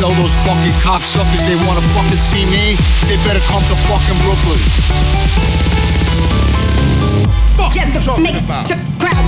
Tell those fucking cocksuckers they wanna fucking see me, they better come to fucking Brooklyn. Fuck Just you talking make about? the crowd.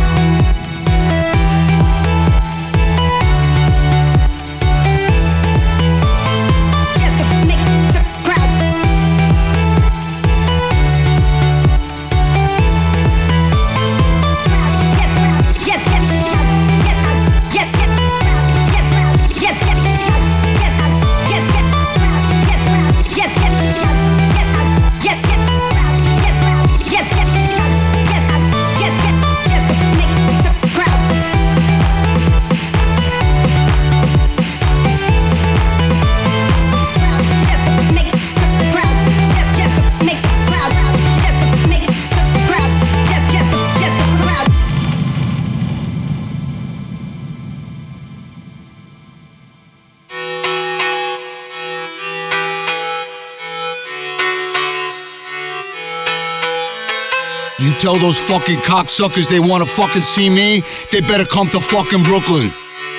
You tell those fucking cocksuckers they wanna fucking see me, they better come to fucking Brooklyn.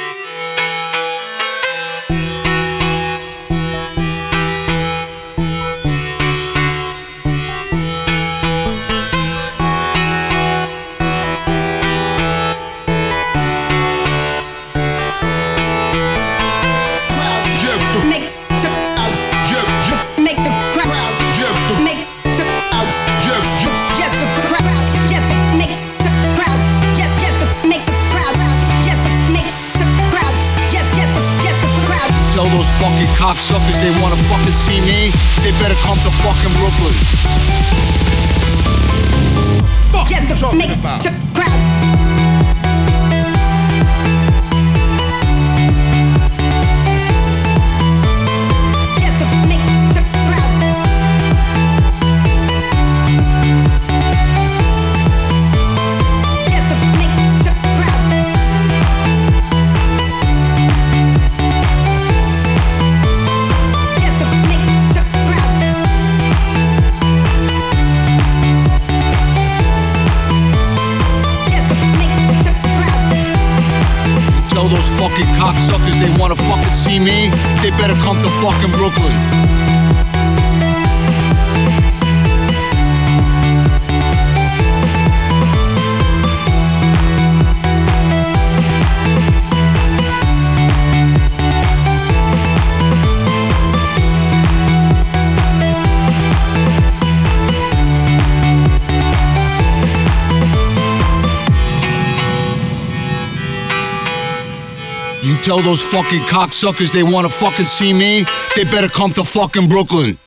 Tell those fucking cocksuckers they wanna fucking see me, they better come to fucking Brooklyn. Fuck you Just talking make about? the crowd. Tell those fucking cocksuckers they wanna fucking see me, they better come to fucking Brooklyn. You tell those fucking cocksuckers they wanna fucking see me, they better come to fucking Brooklyn.